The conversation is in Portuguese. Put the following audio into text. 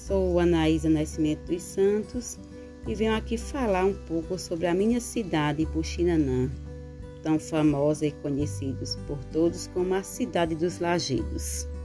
Sou Anaísa Nascimento dos Santos e venho aqui falar um pouco sobre a minha cidade, Puxinanã, tão famosa e conhecida por todos como a Cidade dos Lajedos.